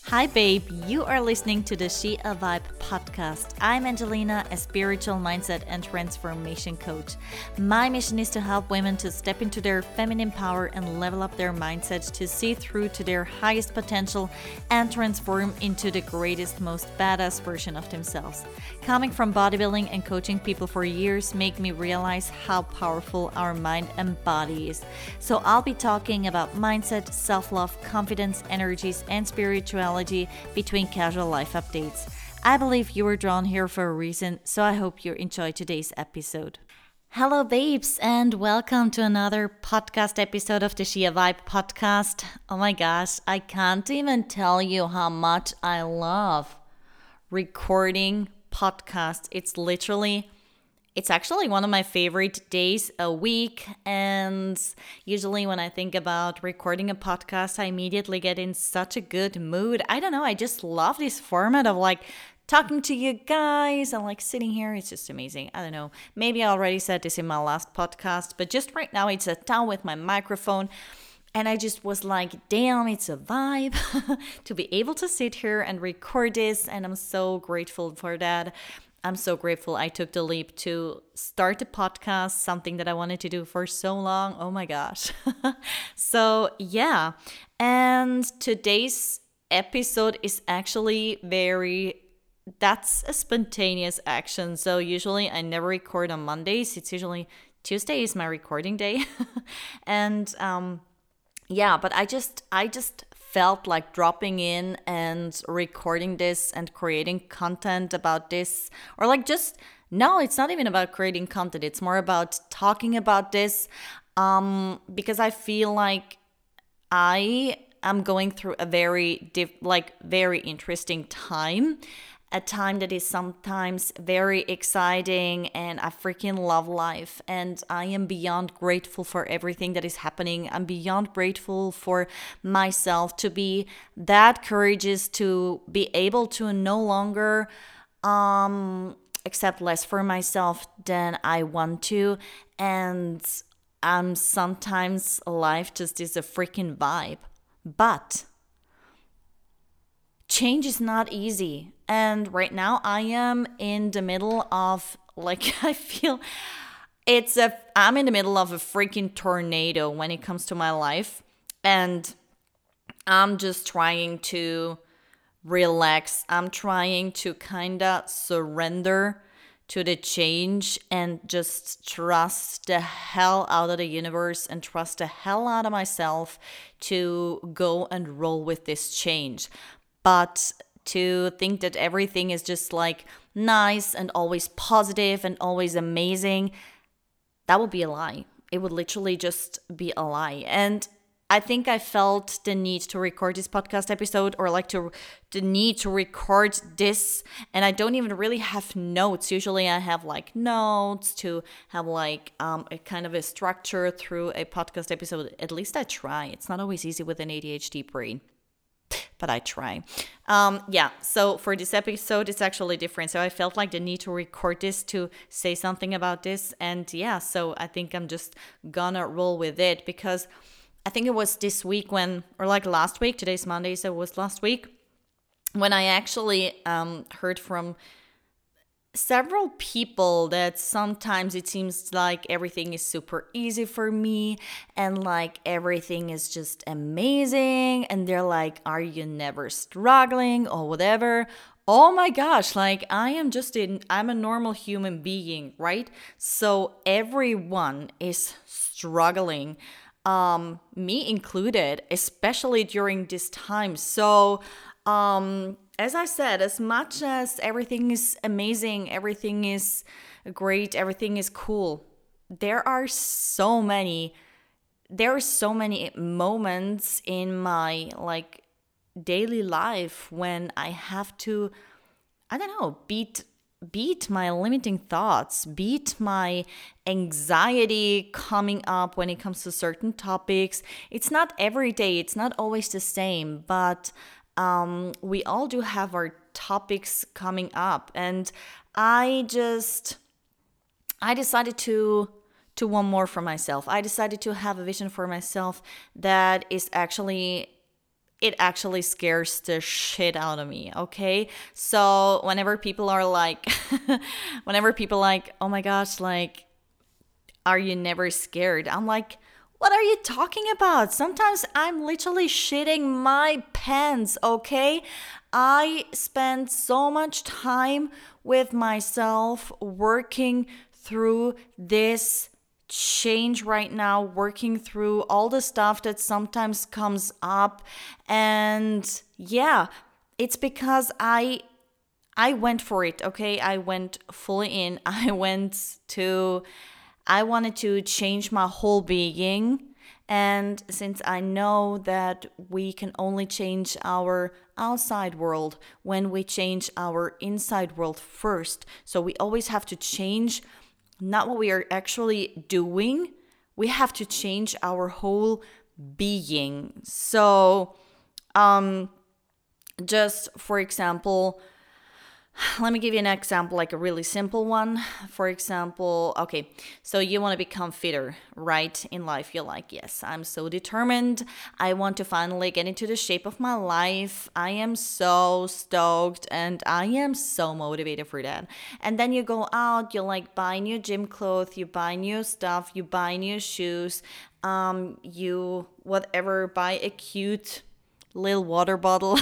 Hi, babe. You are listening to the She a Vibe podcast. I'm Angelina, a spiritual mindset and transformation coach. My mission is to help women to step into their feminine power and level up their mindset to see through to their highest potential and transform into the greatest, most badass version of themselves. Coming from bodybuilding and coaching people for years make me realize how powerful our mind and body is. So I'll be talking about mindset, self-love, confidence, energies, and spirituality between casual life updates. I believe you were drawn here for a reason, so I hope you enjoy today's episode. Hello, babes, and welcome to another podcast episode of the She a Vibe podcast. Oh my gosh, I can't even tell you how much I love recording podcasts. It's actually one of my favorite days a week, and usually when I think about recording a podcast, I immediately get in such a good mood. I don't know, I just love this format of talking to you guys and sitting here. It's just amazing. I don't know, maybe I already said this in my last podcast, but just right now it's sat down with my microphone and I just was like, damn, it's a vibe to be able to sit here and record this, and I'm so grateful for that. I'm so grateful I took the leap to start a podcast, something that I wanted to do for so long. Oh my gosh. So, yeah. And today's episode is actually that's a spontaneous action. So, usually I never record on Mondays. It's usually Tuesday is my recording day. And, yeah, but I just felt like dropping in and recording this and creating content about this, or no, it's not even about creating content. It's more about talking about this, because I feel like I am going through a very interesting time. A time that is sometimes very exciting, and I freaking love life, and I am beyond grateful for everything that is happening. I'm beyond grateful for myself to be that courageous, to be able to no longer accept less for myself than I want to, and sometimes life just is a freaking vibe. But change is not easy. And right now I am in the middle of I feel I'm in the middle of a freaking tornado when it comes to my life. And I'm just trying to relax. I'm trying to kind of surrender to the change and just trust the hell out of the universe and trust the hell out of myself to go and roll with this change. But to think that everything is just nice and always positive and always amazing, that would be a lie. It would literally just be a lie. And I think I felt the need to record this podcast episode, or the need to record this. And I don't even really have notes. Usually I have notes to have a kind of a structure through a podcast episode. At least I try. It's not always easy with an ADHD brain, but I try. So for this episode, it's actually different. So I felt the need to record this to say something about this. And yeah, so I think I'm just gonna roll with it, because I think it was this week last week, today's Monday, so it was last week, when I actually heard from several people that sometimes it seems like everything is super easy for me and everything is just amazing, and they're like, are you never struggling or whatever? Oh my gosh, I'm a normal human being, right? So everyone is struggling, me included, especially during this time. So as I said, as much as everything is amazing, everything is great, everything is cool, there are so many moments in my daily life when I have to, I don't know, beat my limiting thoughts, beat my anxiety coming up when it comes to certain topics. It's not every day, it's not always the same, but we all do have our topics coming up. And I decided to want more for myself. I decided to have a vision for myself that is actually it actually scares the shit out of me, okay? So whenever people are like, oh my gosh, like, are you never scared? I'm like, what are you talking about? Sometimes I'm literally shitting my pants, okay? I spend so much time with myself working through this change right now, working through all the stuff that sometimes comes up. And yeah, it's because I went for it, okay? I went fully in. I wanted to change my whole being. And since I know that we can only change our outside world when we change our inside world first, so we always have to change not what we are actually doing, we have to change our whole being. So, just for example, let me give you an example, like a really simple one. For example, okay, so you want to become fitter, right? In life, you're like, yes, I'm so determined. I want to finally get into the shape of my life. I am so stoked and I am so motivated for that. And then you go out, you like buy new gym clothes, you buy new stuff, you buy new shoes, you whatever, buy a cute little water bottle.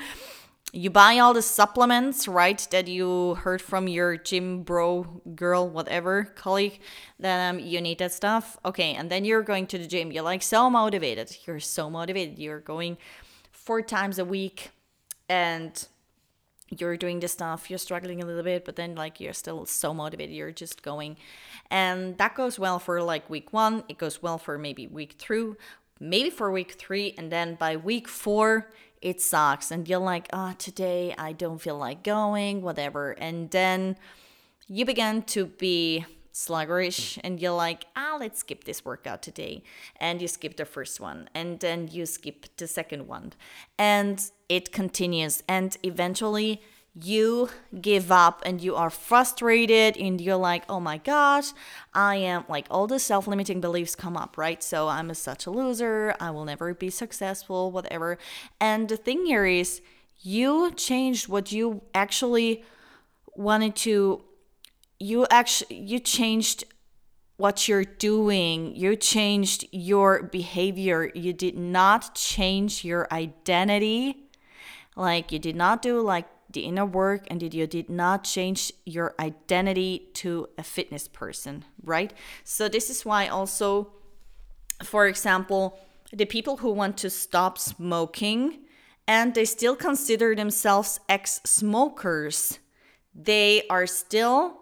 You buy all the supplements, right, that you heard from your gym bro, girl, whatever, colleague, that you need that stuff. Okay, and then you're going to the gym. You're like so motivated. You're so motivated. You're going 4 times a week and you're doing this stuff. You're struggling a little bit, but then like you're still so motivated. You're just going. And that goes well for like week 1. It goes well for maybe week 2, maybe for week 3. And then by week 4, it sucks and you're like, today I don't feel like going, whatever. And then you begin to be sluggish and you're like, let's skip this workout today. And you skip the first one and then you skip the second one. And it continues and eventually you give up and you are frustrated and you're like, oh my gosh, I am like, all the self-limiting beliefs come up, right? So I'm such a loser, I will never be successful, whatever. And the thing here is you changed what you actually wanted to, you changed what you're doing, you changed your behavior, you did not change your identity. Like you did not do like the inner work and you did not change your identity to a fitness person, right? So this is why also, for example, the people who want to stop smoking and they still consider themselves ex-smokers, they are still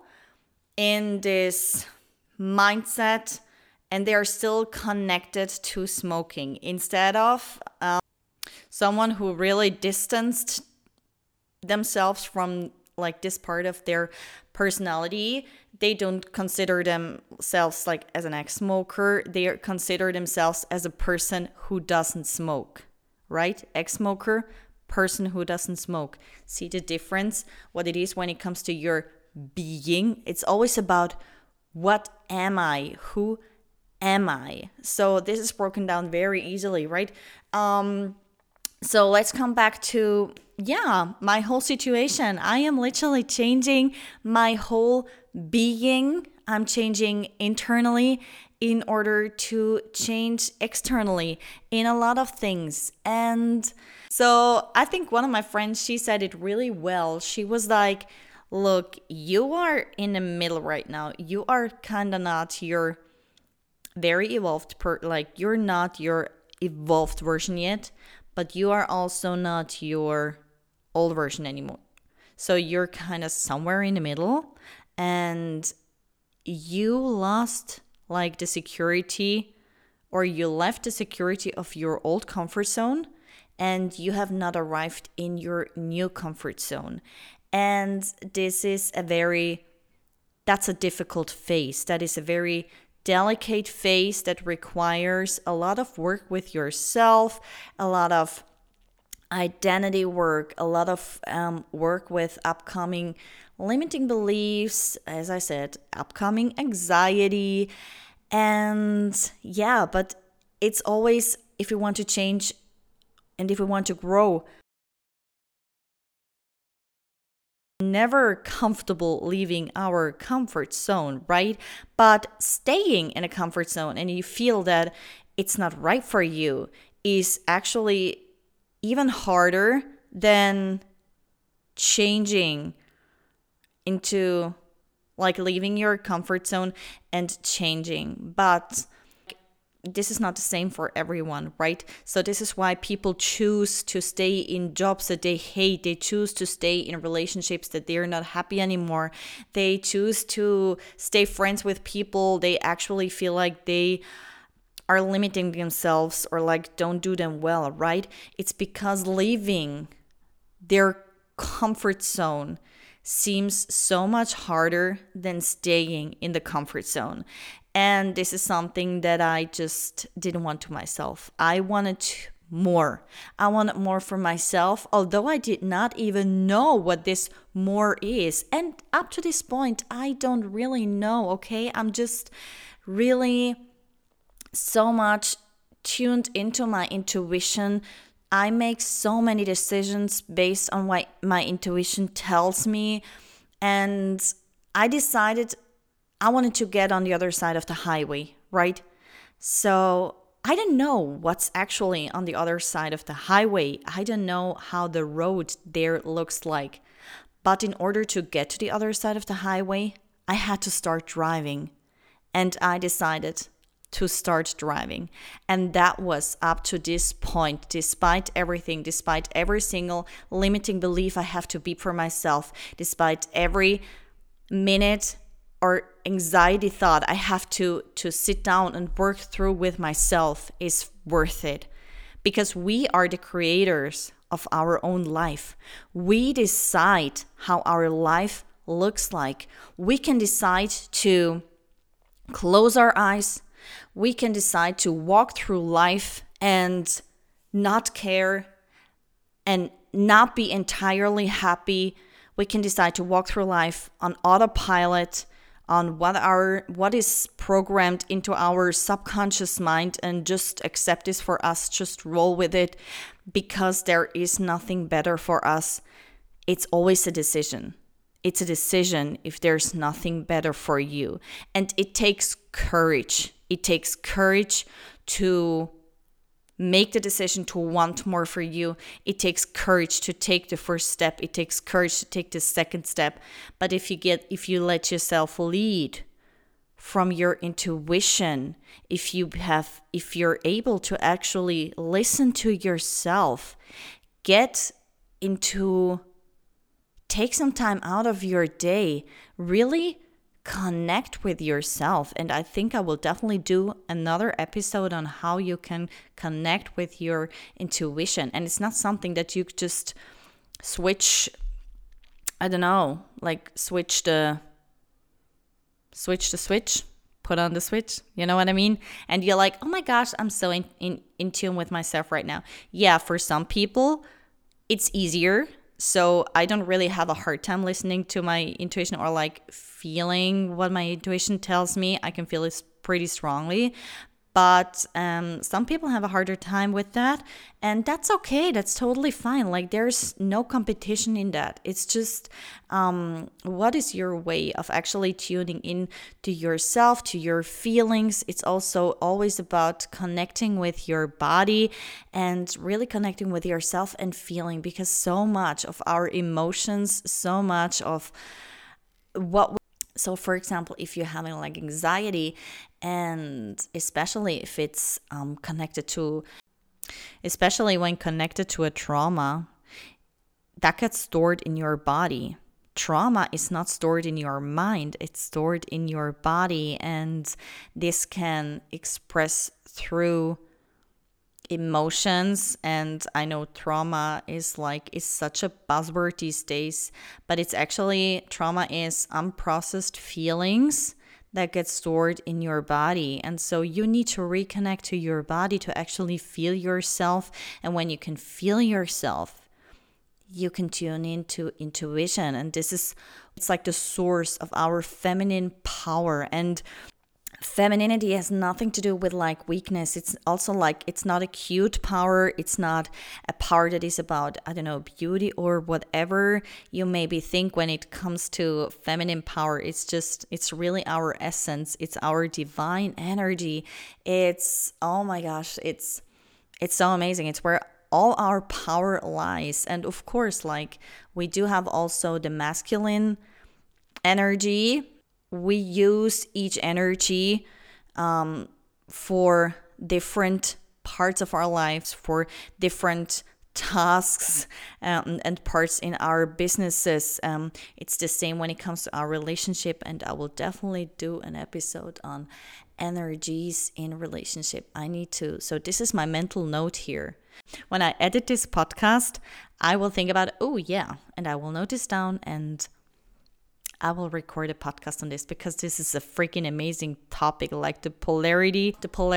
in this mindset and they are still connected to smoking instead of someone who really distanced themselves from like this part of their personality. They don't consider themselves like as an ex-smoker. They consider themselves as a person who doesn't smoke, right? Ex-smoker, person who doesn't smoke. See the difference? What it is when it comes to your being. It's always about what am I? Who am I? So this is broken down very easily, right? So let's come back to, my whole situation. I am literally changing my whole being. I'm changing internally in order to change externally in a lot of things. And so I think one of my friends, she said it really well. She was like, look, you are in the middle right now. You are kind of not your very evolved, you're not your evolved version yet, but you are also not your old version anymore. So you're kind of somewhere in the middle and you lost like the security, or you left the security of your old comfort zone and you have not arrived in your new comfort zone. And this is that's a difficult phase. That is a very delicate phase that requires a lot of work with yourself, a lot of identity work, a lot of work with upcoming limiting beliefs, as I said, upcoming anxiety. And but it's always, if you want to change and if we want to grow, never comfortable leaving our comfort zone, right? But staying in a comfort zone and you feel that it's not right for you is actually even harder than changing into like leaving your comfort zone and changing. But this is not the same for everyone, right? So this is why people choose to stay in jobs that they hate. They choose to stay in relationships that they're not happy anymore. They choose to stay friends with people they actually feel like they are limiting themselves or like don't do them well, right? It's because leaving their comfort zone seems so much harder than staying in the comfort zone. And this is something that I just didn't want to myself. I wanted more. I wanted more for myself, although I did not even know what this more is. And up to this point, I don't really know, okay? I'm just really so much tuned into my intuition. I make so many decisions based on what my intuition tells me. And I decided I wanted to get on the other side of the highway, right? So I didn't know what's actually on the other side of the highway. I don't know how the road there looks like. But in order to get to the other side of the highway, I had to start driving. And I decided to start driving. And that was up to this point, despite everything, despite every single limiting belief I have to be for myself, despite every minute or anxiety thought I have to sit down and work through with myself is worth it. Because we are the creators of our own life. We decide how our life looks like. We can decide to close our eyes. We can decide to walk through life and not care and not be entirely happy. We can decide to walk through life on autopilot, on what is programmed into our subconscious mind, and just accept this for us, just roll with it, because there is nothing better for us. It's always a decision. It's a decision if there's nothing better for you. And it takes courage. It takes courage to make the decision to want more for you. It takes courage to take the first step. It takes courage to take the second step. But if you let yourself lead from your intuition, if you're able to actually listen to yourself, take some time out of your day, really connect with yourself. And I think I will definitely do another episode on how you can connect with your intuition. And it's not something that you just switch, I don't know, like switch the switch, put on the switch, you know what I mean? And you're like, oh my gosh, I'm so in tune with myself right now. Yeah, for some people, it's easier. So I don't really have a hard time listening to my intuition or like feeling what my intuition tells me. I can feel it pretty strongly. But some people have a harder time with that. And that's okay. That's totally fine. Like there's no competition in that. It's just what is your way of actually tuning in to yourself, to your feelings. It's also always about connecting with your body and really connecting with yourself and feeling, because so much of our emotions, so much of so for example, if you're having like anxiety, and especially if it's especially when connected to a trauma, that gets stored in your body. Trauma is not stored in your mind, it's stored in your body, and this can express through emotions. And I know trauma is such a buzzword these days, but it's actually, trauma is unprocessed feelings that get stored in your body. And so you need to reconnect to your body to actually feel yourself. And when you can feel yourself, you can tune into intuition. And it's like the source of our feminine power. And femininity has nothing to do with like weakness. It's also like, it's not a cute power. It's not a power that is about, I don't know, beauty or whatever you maybe think when it comes to feminine power. It's really our essence. It's our divine energy. It's, oh my gosh, it's so amazing. It's where all our power lies. And of course, like, we do have also the masculine energy. We use each energy for different parts of our lives, for different tasks and parts in our businesses. It's the same when it comes to our relationship, and I will definitely do an episode on energies in relationship. I need to. So this is my mental note here. When I edit this podcast, I will think about, oh yeah, and I will note this down, and I will record a podcast on this, because this is a freaking amazing topic, like the polarity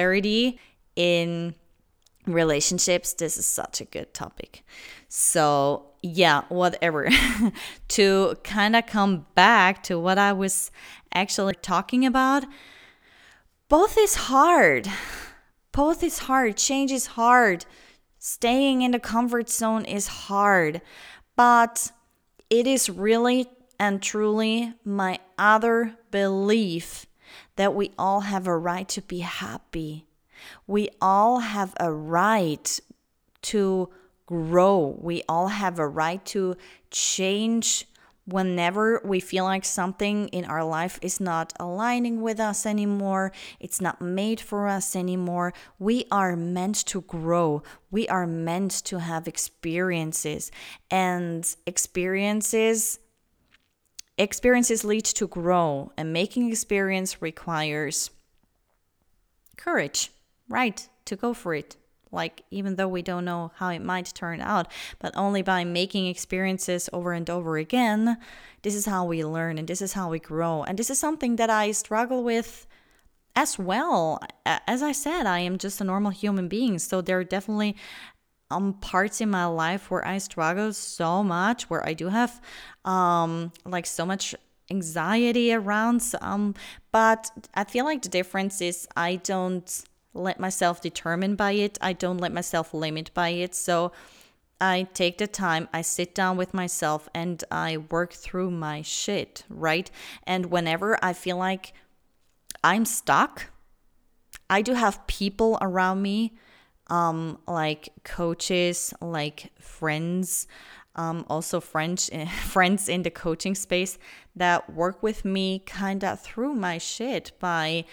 in relationships. This is such a good topic. So yeah, whatever. To kind of come back to what I was actually talking about, both is hard. Change is hard. Staying in the comfort zone is hard. But it is really and truly my other belief that we all have a right to be happy. We all have a right to grow. We all have a right to change whenever we feel like something in our life is not aligning with us anymore. It's not made for us anymore. We are meant to grow. We are meant to have experiences. And experiences lead to grow, and making experience requires courage, right? To go for it. Like, even though we don't know how it might turn out, but only by making experiences over and over again, this is how we learn, and this is how we grow. And this is something that I struggle with as well. As I said, I am just a normal human being. So there are definitely parts in my life where I struggle so much, where I do have like so much anxiety around. But I feel like the difference is I don't let myself determine by it. I don't let myself limit by it. So I take the time, I sit down with myself, and I work through my shit, right? And whenever I feel like I'm stuck, I do have people around me, like coaches, like friends, also friends in the coaching space that work with me kind of through my shit by,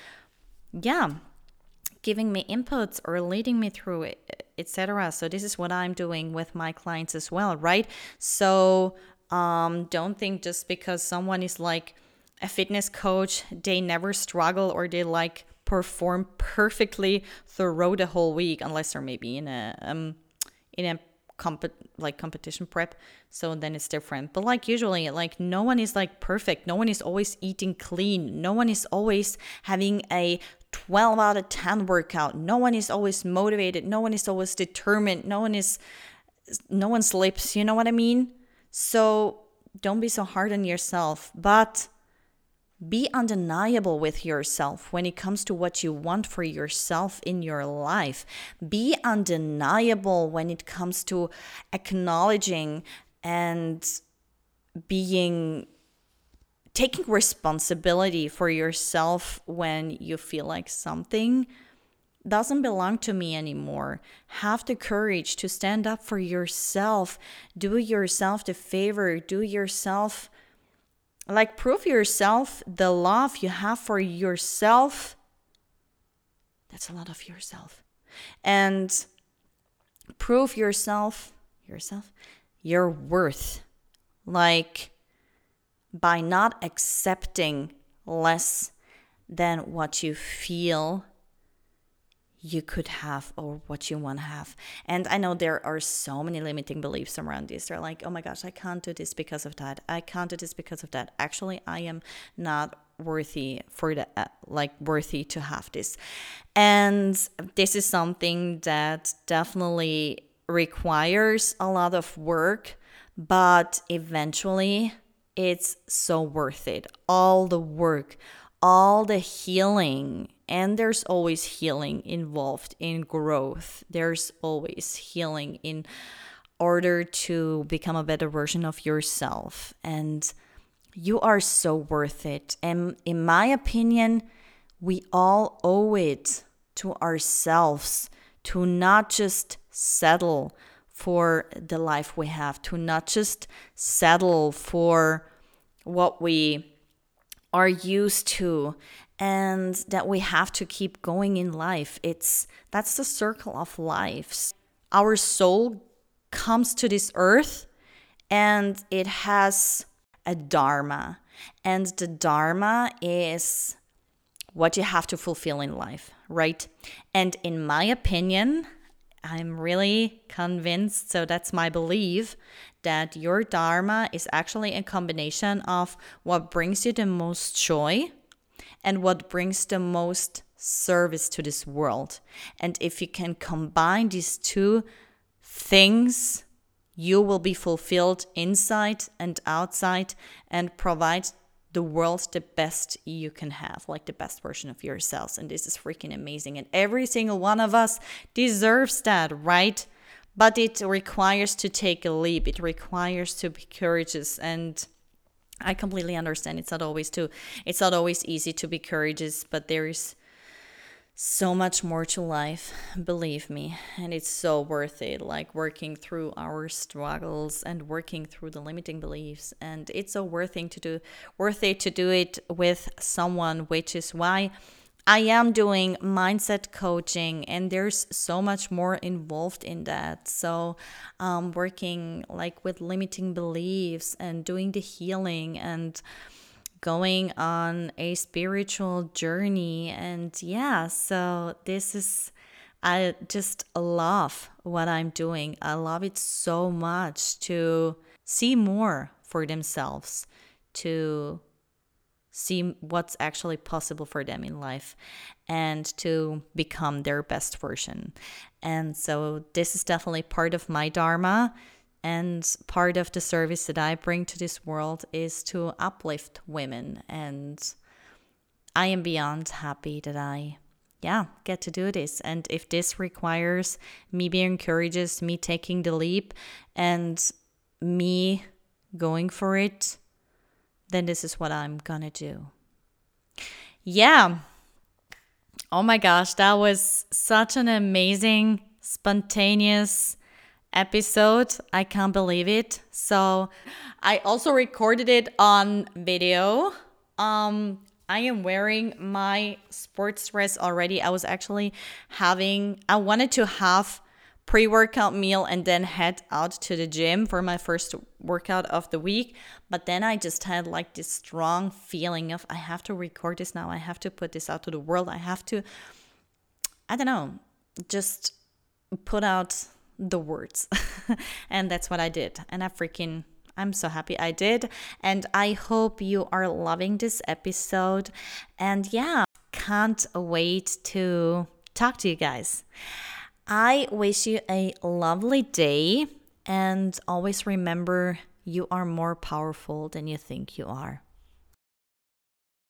giving me inputs or leading me through it, etc. So this is what I'm doing with my clients as well, right? So don't think just because someone is like a fitness coach, they never struggle or they like perform perfectly throughout the whole week, unless they're maybe in a competition prep. So then it's different. But like usually, like no one is like perfect. No one is always eating clean. No one is always having a 12 out of 10 workout. No one is always motivated. No one is always determined. No one slips. You know what I mean? So don't be so hard on yourself, but be undeniable with yourself when it comes to what you want for yourself in your life. Be undeniable when it comes to acknowledging and taking responsibility for yourself when you feel like something doesn't belong to me anymore. Have the courage to stand up for yourself. Do yourself the favor. Do yourself, like, prove yourself the love you have for yourself. That's a lot of yourself. And prove yourself your worth. Like, by not accepting less than what you feel you could have or what you want to have. And I know there are so many limiting beliefs around this. They're like, oh my gosh, I can't do this because of that. I can't do this because of that. Actually, I am not worthy worthy to have this. And this is something that definitely requires a lot of work, but eventually it's so worth it. All the work, all the healing, and there's always healing involved in growth. There's always healing in order to become a better version of yourself. And you are so worth it. And in my opinion, we all owe it to ourselves to not just settle for the life we have, to not just settle for what we are used to, and that we have to keep going in life. That's the circle of life. Our soul comes to this earth and it has a dharma, and the dharma is what you have to fulfill in life, right? And in my opinion, I'm really convinced, so that's my belief, that your dharma is actually a combination of what brings you the most joy and what brings the most service to this world. And if you can combine these two things, you will be fulfilled inside and outside and provide the world the best you can have, like the best version of yourselves. And this is freaking amazing. And every single one of us deserves that, right? But it requires to take a leap. It requires to be courageous. And I completely understand it's not always easy to be courageous, but there is so much more to life, believe me, and it's so worth it, like working through our struggles and working through the limiting beliefs. And it's so worth it to do it with someone, which is why I am doing mindset coaching, and there's so much more involved in that. So working like with limiting beliefs and doing the healing and going on a spiritual journey. And yeah, so I just love what I'm doing. I love it so much to see more for themselves, to see what's actually possible for them in life, and to become their best version. And so this is definitely part of my dharma. And part of the service that I bring to this world is to uplift women. And I am beyond happy that I get to do this. And if this requires me being courageous, me taking the leap, and me going for it, then this is what I'm gonna do. Yeah. Oh my gosh, that was such an amazing, spontaneous episode. I can't believe it. So I also recorded it on video. I am wearing my sports dress already. I wanted to have pre-workout meal and then head out to the gym for my first workout of the week. But then I just had like this strong feeling of I have to record this now. I have to put this out to the world. I have to, just put out the words. And that's what I did. And I'm so happy I did. And I hope you are loving this episode. And yeah, can't wait to talk to you guys. I wish you a lovely day, and always remember you are more powerful than you think you are.